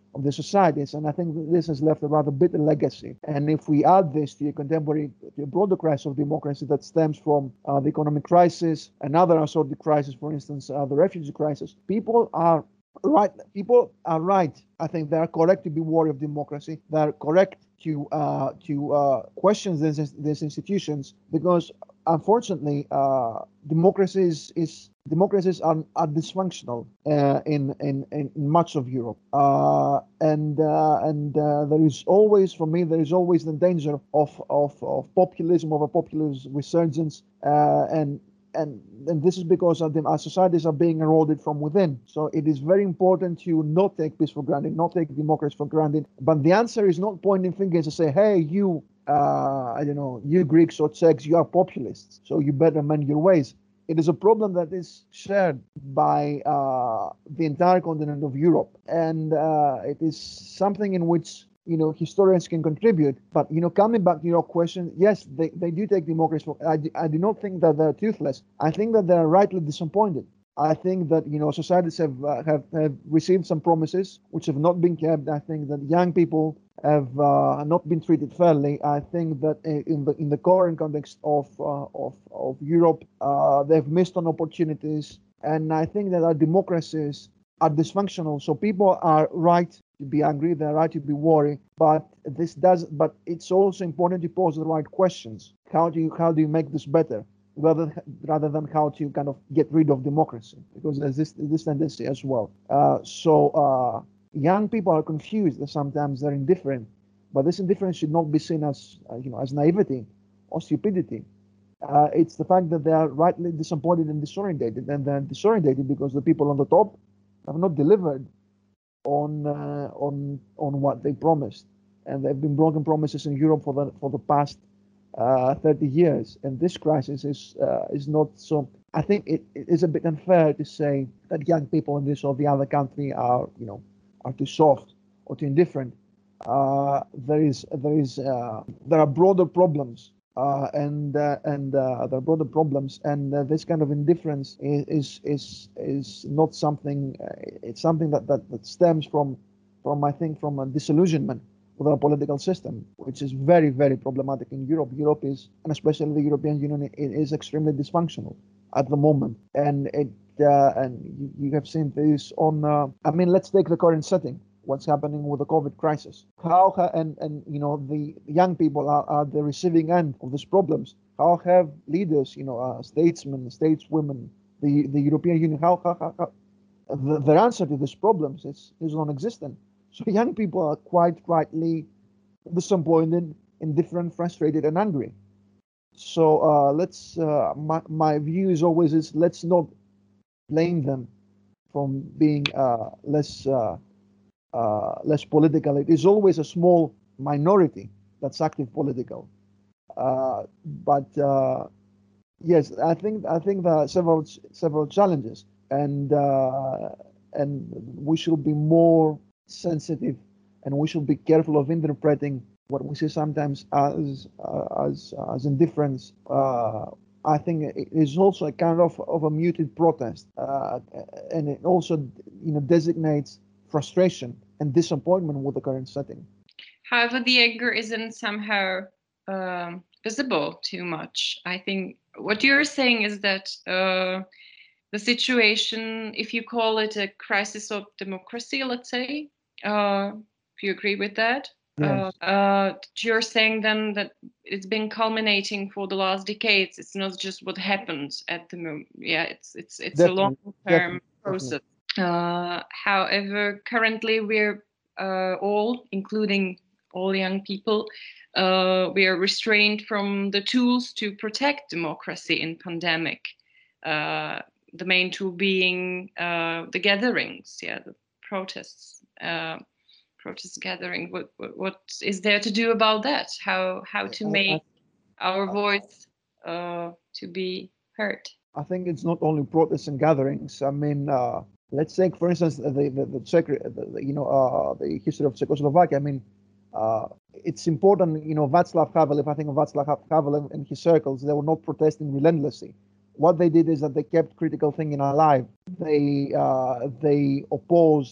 of the societies. And I think that this has left a rather bitter legacy. And if we add this to a contemporary, to a broader crisis of democracy that stems from uh, the economic crisis, another assorted crisis, for instance, uh, the refugee crisis, people are right. People are right. I think they are correct to be worried of democracy. They are correct to uh, to uh, question these, these institutions because, unfortunately, uh, democracies is democracies are, are dysfunctional uh, in, in in much of Europe, uh, and uh, and uh, there is always, for me, there is always the danger of of, of populism, of a populist resurgence, uh, and and and this is because of them, our societies are being eroded from within. So it is very important to not take peace for granted, not take democracy for granted. But the answer is not pointing fingers and say, hey, you, uh, I don't know, you Greeks or Czechs, you are populists, so you better mend your ways. It is a problem that is shared by uh, the entire continent of Europe, and uh, it is something in which, you know, historians can contribute. But, you know, coming back to your question, yes, they, they do take democracy for, I, I do not think that they're toothless. I think that they're rightly disappointed. I think that, you know, societies have, uh, have, have received some promises which have not been kept. I think that young people have uh, not been treated fairly. I think that in the in the current context of uh, of, of Europe, uh, they've missed on opportunities. And I think that our democracies are dysfunctional. So people are right to be angry, they're right to be worried, but this does but it's also important to pose the right questions. How do you how do you make this better? Rather, rather than how to kind of get rid of democracy, because there's this this tendency as well. Uh, so uh, young people are confused. Sometimes they're indifferent, but this indifference should not be seen as uh, you know as naivety or stupidity. Uh, it's the fact that they are rightly disappointed and disorientated, and they're disorientated because the people on the top have not delivered on uh, on on what they promised, and there have been broken promises in Europe for the for the past uh, thirty years, and this crisis is uh, is not so. I think it, it is a bit unfair to say that young people in this or the other country are you know are too soft or too indifferent. Uh, there is there is uh, there are broader problems. Uh, and uh, and uh, there are broader problems, and uh, this kind of indifference is is is, is not something. Uh, it's something that, that, that stems from from I think from a disillusionment with our political system, which is very very problematic in Europe. Europe is, and especially the European Union, it is extremely dysfunctional at the moment, and it uh, and you, you have seen this on. Uh, I mean, let's take the current setting. What's happening with the COVID crisis? How and and you know the young people are, are the receiving end of these problems. How have leaders, you know, uh, statesmen, stateswomen, the the European Union, how, how, how, how the, their answer to these problems is is non-existent. So young people are quite rightly disappointed, indifferent, frustrated, and angry. So uh, let's. Uh, my my view is always is let's not blame them from being uh, less. Uh, Uh, less political. It is always a small minority that's active political. Uh, but uh, yes, I think I think there are several several challenges, and uh, and we should be more sensitive, and we should be careful of interpreting what we see sometimes as uh, as as indifference. Uh, I think it is also a kind of, of a muted protest, uh, and it also you know designates frustration and disappointment with the current setting. However, the anger isn't somehow um, visible too much. I think what you're saying is that uh, the situation, if you call it a crisis of democracy, let's say, uh, if you agree with that, Yes. uh, uh, you're saying then that it's been culminating for the last decades. It's not just what happens at the moment. Yeah, it's it's it's Definitely, a long-term definitely, process. definitely. Uh, however, currently we're uh, all, including all young people, uh, we are restrained from the tools to protect democracy in pandemic. Uh, the main tool being uh, the gatherings, yeah, the protests, uh, protest gathering. What, what, what is there to do about that? How how to I, make our I, voice uh, to be heard? I think it's not only protests and gatherings. I mean, uh, let's take, for instance, the the, the, Czech, the, the you know, uh, the history of Czechoslovakia. I mean, uh, it's important. You know, Václav Havel. If I think of Václav Havel and his circles, they were not protesting relentlessly. What they did is that they kept critical thinking alive. They uh, they opposed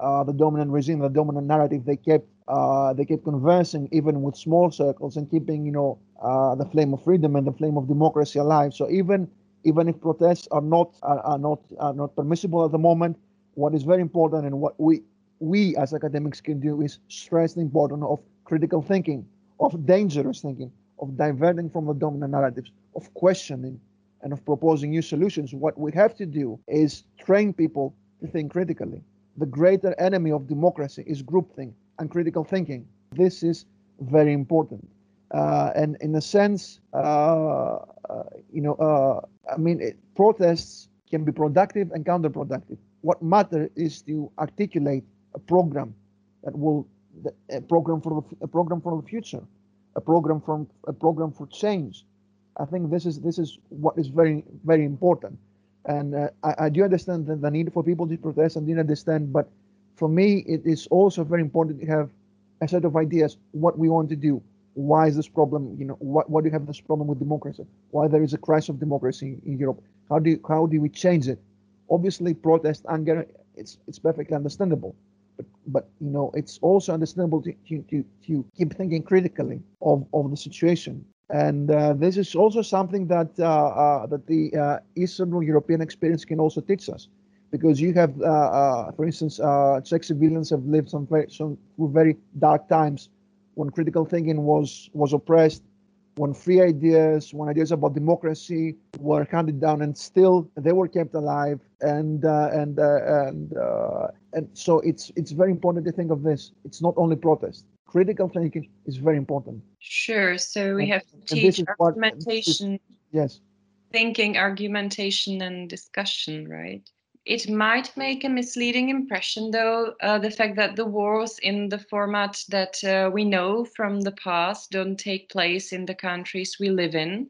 uh, the dominant regime, the dominant narrative. They kept uh, they kept conversing even with small circles and keeping, you know, uh, the flame of freedom and the flame of democracy alive. So even even if protests are not are, are not are not permissible at the moment, what is very important and what we we as academics can do is stress the importance of critical thinking, of dangerous thinking, of diverting from the dominant narratives, of questioning, and of proposing new solutions. What we have to do is train people to think critically. The greater enemy of democracy is groupthink and critical thinking. This is very important. Uh, and in a sense, uh, uh, you know, uh, I mean, it, protests can be productive and counterproductive. What matters is to articulate a program that will, a program for the, a program for the future, a program from a program for change. I think this is this is what is very very important, and uh, I, I do understand the, the need for people to protest and do understand, but for me it is also very important to have a set of ideas what we want to do. Why is this problem? You know, what why do you have this problem with democracy? Why there is a crisis of democracy in Europe? How do you, how do we change it? Obviously, protest, anger, it's it's perfectly understandable, but but you know it's also understandable to to to, to keep thinking critically of of the situation. And uh, this is also something that uh, uh, that the uh, Eastern European experience can also teach us, because you have, uh, uh, for instance, uh, Czech civilians have lived some very some through very dark times when critical thinking was was oppressed, when free ideas, when ideas about democracy were handed down, and still they were kept alive. And uh, and uh, and uh, and so it's it's very important to think of this. It's not only protest. Critical thinking is very important. Sure. So we And, have to and this teach is what this is, argumentation, yes. thinking, argumentation, and discussion, right? It might make a misleading impression, though, uh, the fact that the wars in the format that uh, we know from the past don't take place in the countries we live in.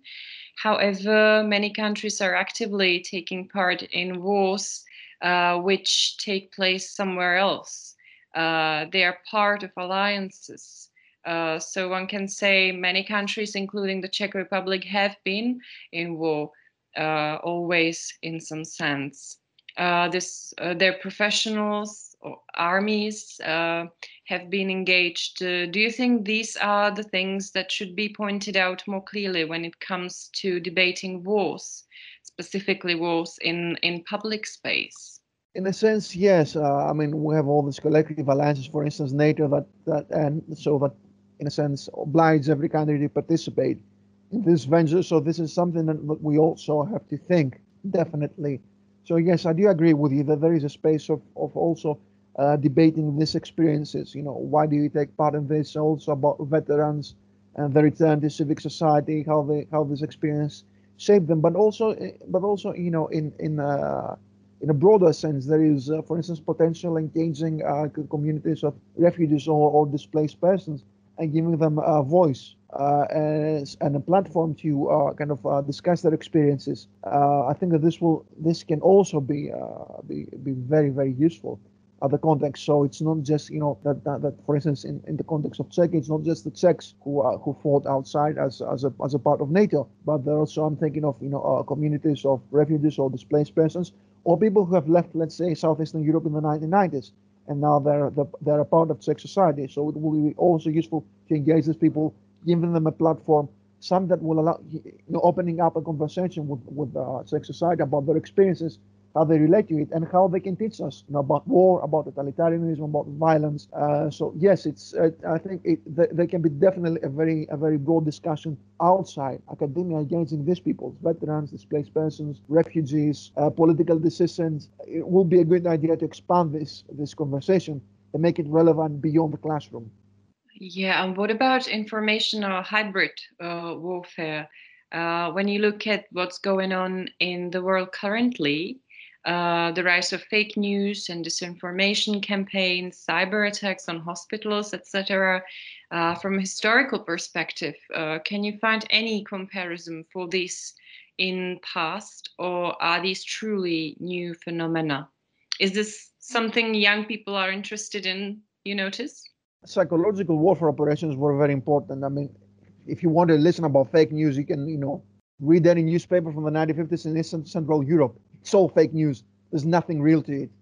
However, many countries are actively taking part in wars uh, which take place somewhere else. Uh, they are part of alliances. Uh, so one can say many countries, including the Czech Republic, have been in war, uh, always in some sense. Uh, this, uh, their professionals or armies uh, have been engaged. Uh, do you think these are the things that should be pointed out more clearly when it comes to debating wars, specifically wars in, in public space? In a sense, yes. Uh, I mean, we have all these collective alliances, for instance, NATO, that, that and so that, in a sense, oblige every country to participate in this venture. So this is something that, that we also have to think, definitely. So yes, I do agree with you that there is a space of, of also uh, debating these experiences. You know, why do you take part in this? Also about veterans and the return to civic society, how they how this experience shaped them, but also but also you know in in uh, in a broader sense, there is, uh, for instance, potential engaging uh, communities of refugees or, or displaced persons and giving them a voice uh, as, and a platform to uh, kind of uh, discuss their experiences. Uh, I think that this will this can also be uh, be, be very very useful at the context. So it's not just you know that that, that for instance in, in the context of Czech, it's not just the Czechs who uh, who fought outside as as a as a part of NATO, but there also I'm thinking of you know uh, communities of refugees or displaced persons or people who have left, let's say, Southeastern Europe in the nineteen nineties, and now they're they're a part of Czech society. So it will be also useful to engage these people, giving them a platform, some that will allow, you know, opening up a conversation with with uh, Czech society about their experiences, how they relate to it, and how they can teach us, you know, about war, about totalitarianism, about violence. Uh, so yes, it's. Uh, I think it, th- there can be definitely a very, a very broad discussion outside academia engaging these people, veterans, displaced persons, refugees, uh, political dissidents. It will be a good idea to expand this this conversation and make it relevant beyond the classroom. Yeah, and what about information or hybrid uh, warfare? Uh, when you look at what's going on in the world currently, uh, the rise of fake news and disinformation campaigns, cyber attacks on hospitals, et cetera. Uh, from a historical perspective, uh, can you find any comparison for this in past, or are these truly new phenomena? Is this something young people are interested in, you notice? Psychological warfare operations were very important. I mean, if you want to listen about fake news, you can, you know, read any newspaper from the nineteen fifties in Eastern Central Europe. It's all fake news. There's nothing real to it.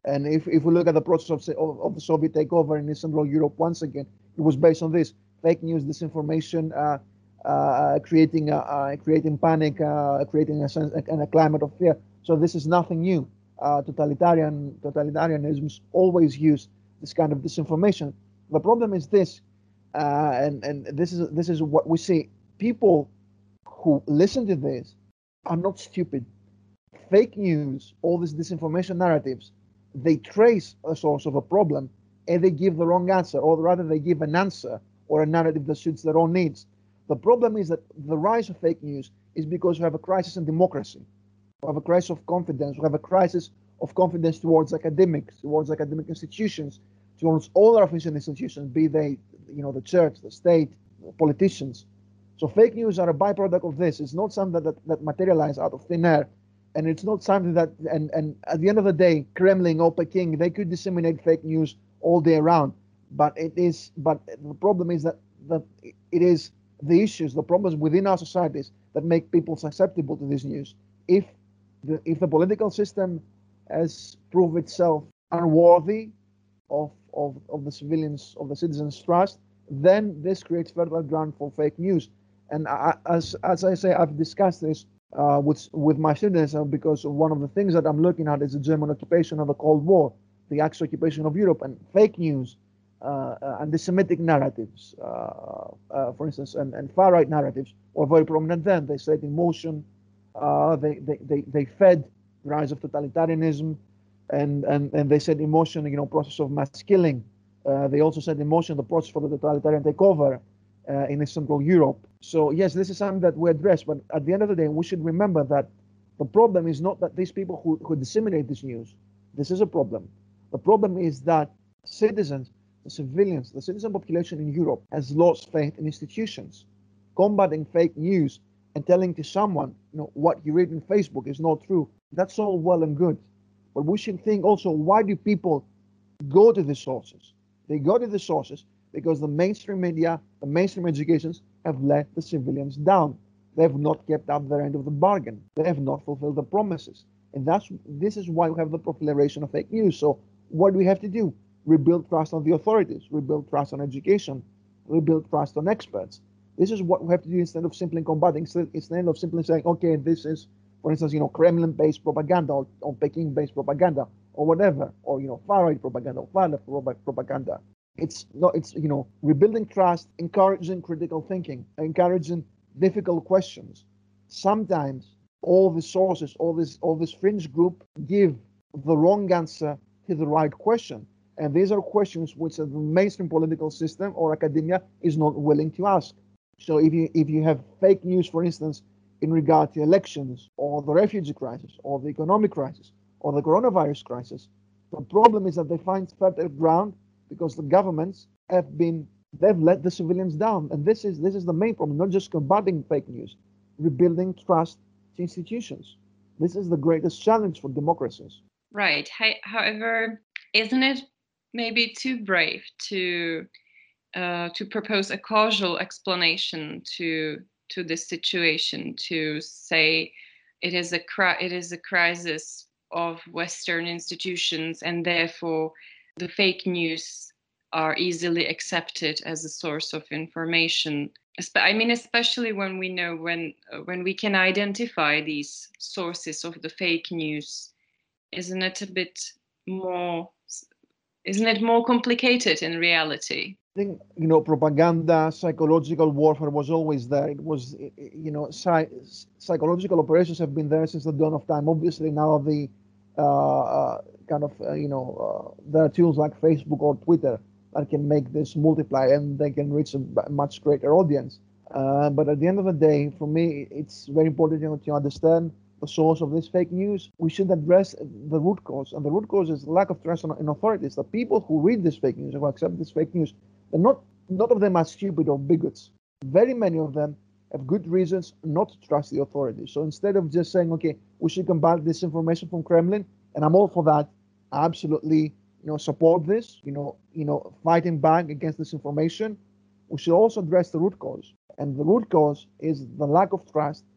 And if, if we look at the process of, of, of the Soviet takeover in Eastern Bloc Europe, once again, it was based on this: fake news, disinformation, uh, uh, creating uh, uh, creating panic, uh, creating a sense and a climate of fear. So this is nothing new. Uh, totalitarian totalitarianisms always use this kind of disinformation. The problem is this, uh, and and this is this is what we see. People who listen to this are not stupid. Fake news, all these disinformation narratives, they trace a source of a problem and they give the wrong answer, or rather, they give an answer or a narrative that suits their own needs. The problem is that the rise of fake news is because we have a crisis in democracy. We have a crisis of confidence. We have a crisis of confidence towards academics, towards academic institutions, towards all our official institutions, be they, you know, the church, the state, the politicians. So fake news are a byproduct of this. It's not something that, that, that materialize out of thin air. And it's not something that, and, and at the end of the day, Kremlin or Peking, they could disseminate fake news all day around. But it is, but the problem is that, that it is the issues, the problems within our societies that make people susceptible to this news. If the, if the political system has proved itself unworthy of, of, of the civilians, of the citizens' trust, then this creates fertile ground for fake news. And I, as, as I say, I've discussed this uh, with, with my students uh, because one of the things that I'm looking at is the German occupation of the Cold War, the Axis occupation of Europe, and fake news, uh, uh, anti-Semitic narratives, uh, uh, for instance, and, and far-right narratives were very prominent then. They set in motion, uh, they, they, they, they fed the rise of totalitarianism, and, and, and they set in motion, you know, process of mass killing. Uh, they also set in motion the process for the totalitarian takeover uh, in Eastern Bloc Europe. So yes, this is something that we address, but at the end of the day, we should remember that the problem is not that these people who, who disseminate this news, this is a problem. The problem is that citizens, the civilians, the citizen population in Europe has lost faith in institutions. Combating fake news and telling to someone, you know, what you read in Facebook is not true, that's all well and good. But we should think also, why do people go to the sources? They go to the sources because the mainstream media, the mainstream educations have let the civilians down. They have not kept up their end of the bargain. They have not fulfilled the promises. And that's this is why we have the proliferation of fake news. So what do we have to do? Rebuild trust on the authorities, rebuild trust on education, rebuild trust on experts. This is what we have to do instead of simply combating, instead of simply saying, okay, this is, for instance, you know, Kremlin-based propaganda or, or Peking-based propaganda or whatever, or, you know, far-right propaganda or far-left propaganda. It's not, it's, you know, rebuilding trust, encouraging critical thinking, encouraging difficult questions. Sometimes all the sources, all this, all this fringe group give the wrong answer to the right question. And these are questions which the mainstream political system or academia is not willing to ask. So if you if you have fake news, for instance, in regard to elections or the refugee crisis or the economic crisis or the coronavirus crisis, the problem is that they find fertile ground because the governments have been they've let the civilians down, and this is this is the main problem. Not just combating fake news, rebuilding trust to institutions. This is the greatest challenge for democracies. Right. However, isn't it maybe too brave to uh, to propose a causal explanation to to this situation, to say it is a cri- it is a crisis of Western institutions, and therefore the fake news are easily accepted as a source of information? I mean, especially when we know when when we can identify these sources of the fake news, isn't it a bit more? Isn't it more complicated in reality? I think, you know, propaganda, psychological warfare was always there. It was, you know, psy- psychological operations have been there since the dawn of time. Obviously, now the uh, uh, kind of, uh, you know, uh, there are tools like Facebook or Twitter that can make this multiply and they can reach a much greater audience. Uh, but at the end of the day, for me, it's very important, you know, to understand the source of this fake news. We should address the root cause, and the root cause is lack of trust in authorities. The people who read this fake news, who accept this fake news, they're not, none of them are stupid or bigots. Very many of them have good reasons not to trust the authorities. So instead of just saying, okay, we should combat disinformation from Kremlin, and I'm all for that, I absolutely, you know, support this, you know, you know, fighting back against disinformation, we should also address the root cause. And the root cause is the lack of trust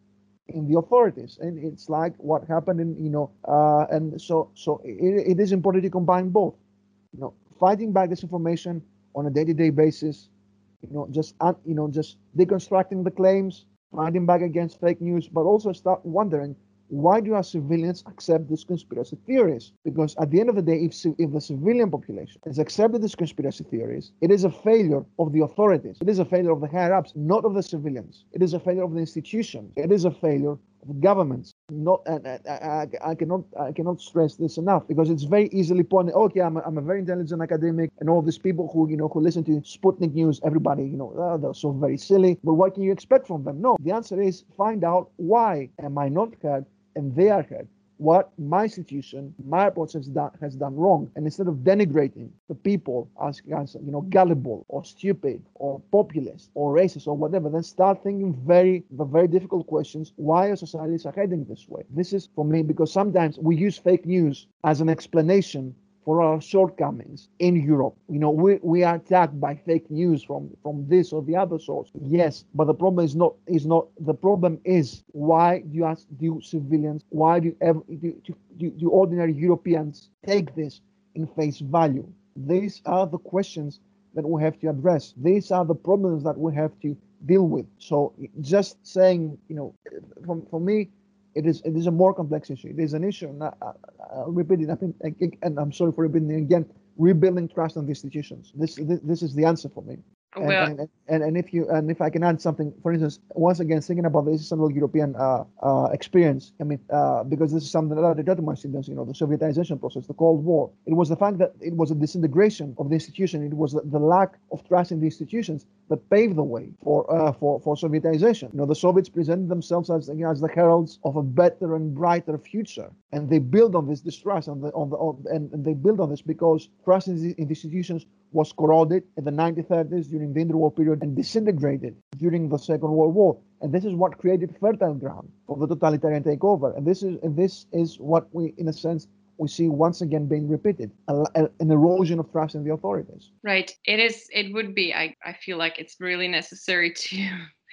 in the authorities, and it's like what happened in you know, uh, and so so it, it is important to combine both. You know, fighting back disinformation on a day-to-day basis. You know, just uh, you know, just deconstructing the claims, fighting back against fake news, but also start wondering, why do our civilians accept these conspiracy theories? Because at the end of the day, if, if the civilian population has accepted these conspiracy theories, it is a failure of the authorities. It is a failure of the higher ups, not of the civilians. It is a failure of the institutions. It is a failure of governments. Not, and I, I, I cannot, I cannot stress this enough, because it's very easily pointed. Okay, I'm a, I'm a very intelligent academic, and all these people who, you know, who listen to Sputnik News, everybody, you know, oh, they're so very silly. But what can you expect from them? No, the answer is find out why am I not heard, and they are heard. What my institution, my approach has done, has done wrong. And instead of denigrating the people as, as you know, gullible or stupid or populist or racist or whatever, then start thinking very, the very difficult questions. Why our societies are heading this way? This is for me, because sometimes we use fake news as an explanation for our shortcomings in Europe. You know, we, we are attacked by fake news from, from this or the other source. Yes, but the problem is not is not the problem is why do you ask, do civilians, why do ever do, do, do ordinary Europeans take this in face value? These are the questions that we have to address. These are the problems that we have to deal with. So just saying, you know, for, for me, it is it is a more complex issue. It is an issue, and I, I, I'll repeat it. I think, and I'm sorry for repeating it again. Rebuilding trust in the institutions. This this, this is the answer for me. And, Well, and, and and if you and if I can add something, for instance, once again thinking about the Central European uh, uh, experience. I mean, uh, because this is something that I got to my students. You know, the Sovietization process, the Cold War. It was the fact that it was a disintegration of the institution. It was the, the lack of trust in the institutions that paved the way for uh, for for Sovietization. You know, the Soviets presented themselves as, you know, as the heralds of a better and brighter future, and they build on this distrust on the on the on, and, and they build on this because trust in the, in the institutions was corroded in the nineteen thirties during the interwar period and disintegrated during the Second World War. And this is what created fertile ground for the totalitarian takeover. And this is and this is what we, in a sense, we see once again being repeated, a, a, an erosion of trust in the authorities. Right. It is. It would be. I, I feel like it's really necessary to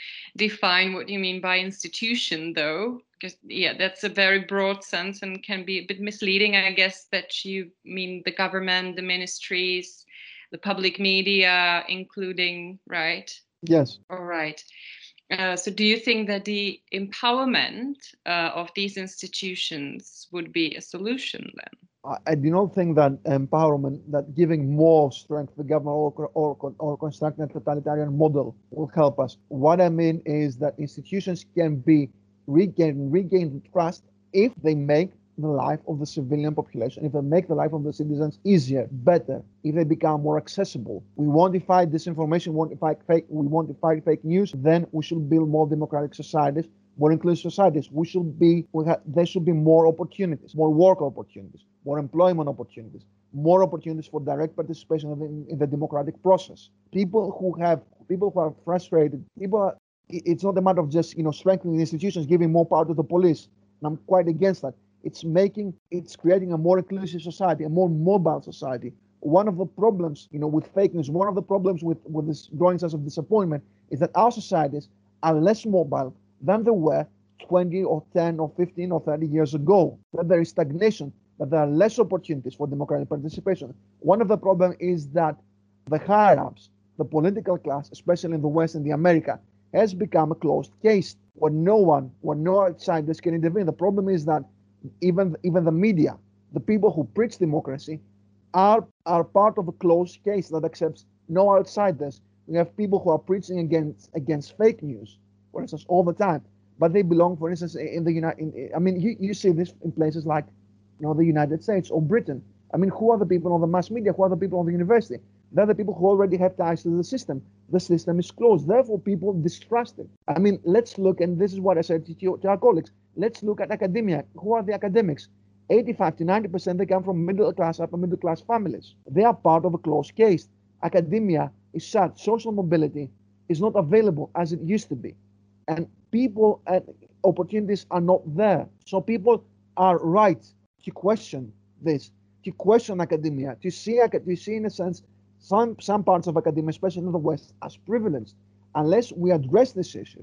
define what you mean by institution, though, because yeah, that's a very broad sense and can be a bit misleading. I guess that you mean the government, the ministries, the public media, including, right? Yes. All right. Uh, so do you think that the empowerment uh, of these institutions would be a solution then? I, I do not think that empowerment, that giving more strength to the government or, or, or constructing a totalitarian model will help us. What I mean is that institutions can be regain, regain trust if they make the life of the civilian population, if they make the life of the citizens easier, better, if they become more accessible. We want to fight disinformation, we want to fight fake, we want to fight fake news, then we should build more democratic societies, more inclusive societies. We should be, we have, there should be more opportunities, more work opportunities, more employment opportunities, more opportunities for direct participation in, in the democratic process. People who have, people who are frustrated, people are, it's not a matter of just, you know, strengthening the institutions, giving more power to the police. And I'm quite against that. It's making, it's creating a more inclusive society, a more mobile society. One of the problems, you know, with fake news, one of the problems with, with this growing sense of disappointment is that our societies are less mobile than they were twenty or ten or fifteen or thirty years ago. That there is stagnation, that there are less opportunities for democratic participation. One of the problems is that the higher ups, the political class, especially in the West and the America, has become a closed case where no one, where no outsiders can intervene. The problem is that even even the media, the people who preach democracy, are are part of a closed case that accepts no outsiders. We have people who are preaching against against fake news, for instance, all the time, but they belong, for instance, in the United. I mean, you, you see this in places like, you know, the United States or Britain. I mean, who are the people on the mass media? Who are the people on the university? They're the people who already have ties to the system. The system is closed. Therefore, people distrust it. I mean, let's look, and this is what I said to, to our colleagues. Let's look at academia. Who are the academics? eighty-five to ninety percent they come from middle class, upper middle class families. They are part of a closed case. Academia is shut. Social mobility is not available as it used to be. And people and opportunities are not there. So people are right to question this, to question academia, to see, to see in a sense, some, some parts of academia, especially in the West, as privileged. Unless we address these issues,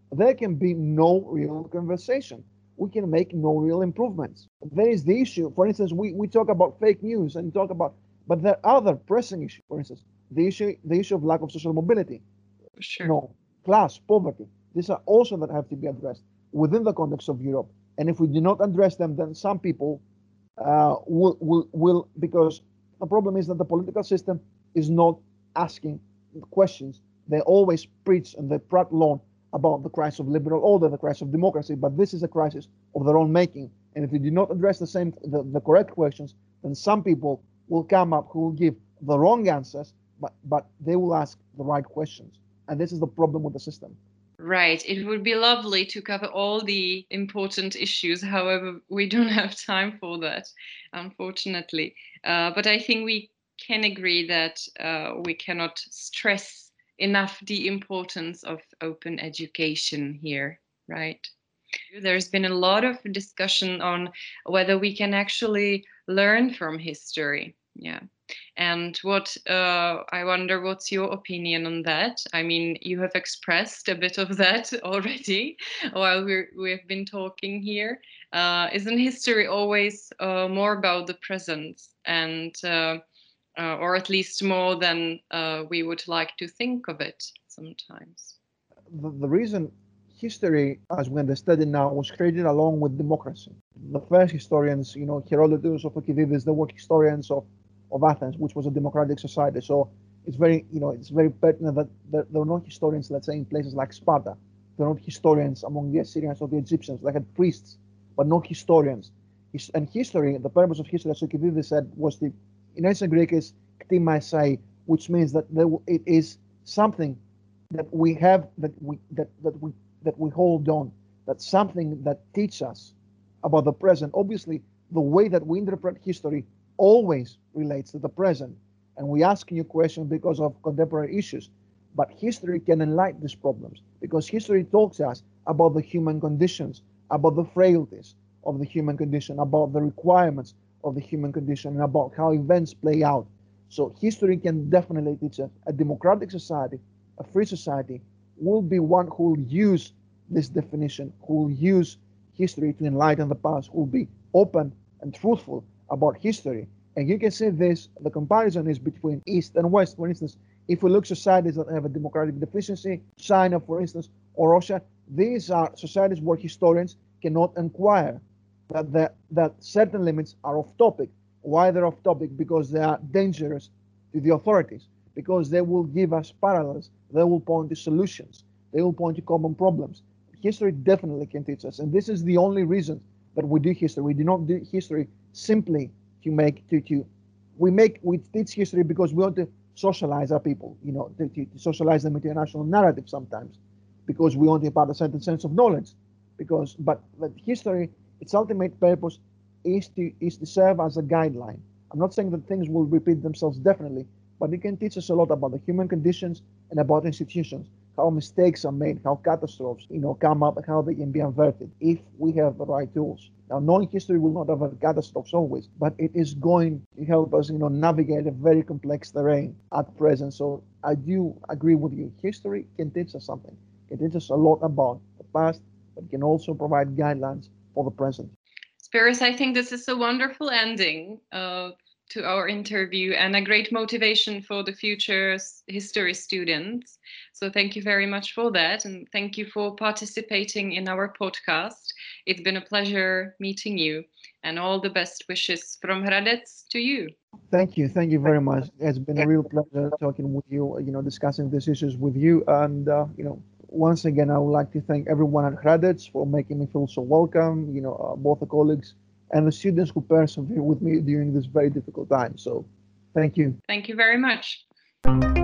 there can be no real conversation. We can make no real improvements. There is the issue, for instance, we, we talk about fake news and talk about, but there are other pressing issues, for instance, the issue, the issue of lack of social mobility, Sure. you know, class, poverty. These are also that have to be addressed within the context of Europe. And if we do not address them, then some people uh, will, will, will, because the problem is that the political system is not asking questions. They always preach and they prattle on about the crisis of liberal order, the crisis of democracy, but this is a crisis of their own making. And if we do not address the same, the, the correct questions, then some people will come up who will give the wrong answers, but, but they will ask the right questions. And this is the problem with the system. Right. It would be lovely to cover all the important issues. However, we don't have time for that, unfortunately. Uh, but I think we can agree that uh, we cannot stress enough the importance of open education here, right? There's been a lot of discussion on whether we can actually learn from history. Yeah. And what uh, I wonder, what's your opinion on that? I mean, you have expressed a bit of that already while we're, we've been talking here. Uh, isn't history always uh, more about the present, and uh, uh, or at least more than uh, we would like to think of it sometimes? The, the reason history, as we understand it now, was created along with democracy. The first historians, you know, Herodotus or Thucydides, they were historians of, of Athens, which was a democratic society. So it's very, you know, it's very pertinent that there, there were not historians, let's say, in places like Sparta. There were not historians among the Assyrians or the Egyptians. They had priests, but not historians. And history, the purpose of history, as Thucydides said, was the, in ancient Greek, is ktimaisai, which means that there, it is something that we have, that we that that we that we hold on, that's something that teaches us about the present. Obviously, the way that we interpret history always relates to the present, and we ask you questions because of contemporary issues. But history can enlighten these problems, because history talks to us about the human conditions, about the frailties of the human condition, about the requirements of the human condition, and about how events play out. So history can definitely teach us. A democratic society, a free society, will be one who will use this definition, who will use history to enlighten the past, who will be open and truthful about history. And you can see this, the comparison is between East and West. For instance, if we look at societies that have a democratic deficiency, China, for instance, or Russia, these are societies where historians cannot inquire that, the, that certain limits are off topic. Why they're off topic? Because they are dangerous to the authorities, because they will give us parallels, they will point to solutions, they will point to common problems. History definitely can teach us, and this is the only reason that we do history. We do not do history simply to make, to, to we make, we teach history because we want to socialize our people, you know, to, to, to socialize them into a national narrative sometimes, because we want to impart a certain sense of knowledge, because, but, but history, its ultimate purpose is to, is to serve as a guideline. I'm not saying that things will repeat themselves definitely, but it can teach us a lot about the human conditions and about institutions, how mistakes are made, how catastrophes, you know, come up, and how they can be averted if we have the right tools. Now, knowing history will not avert catastrophes always, but it is going to help us, you know, navigate a very complex terrain at present. So I do agree with you. History can teach us something. It can teach us a lot about the past, but can also provide guidelines for the present. Spiros, I think this is a wonderful ending uh, to our interview and a great motivation for the future history students. So thank you very much for that. And thank you for participating in our podcast. It's been a pleasure meeting you, and all the best wishes from Hradec to you. Thank you. Thank you very much. It's been a real pleasure talking with you, you know, discussing these issues with you. And, uh, you know, once again, I would like to thank everyone at Hradec for making me feel so welcome, you know, uh, both the colleagues and the students who persevere with me during this very difficult time. So thank you. Thank you very much.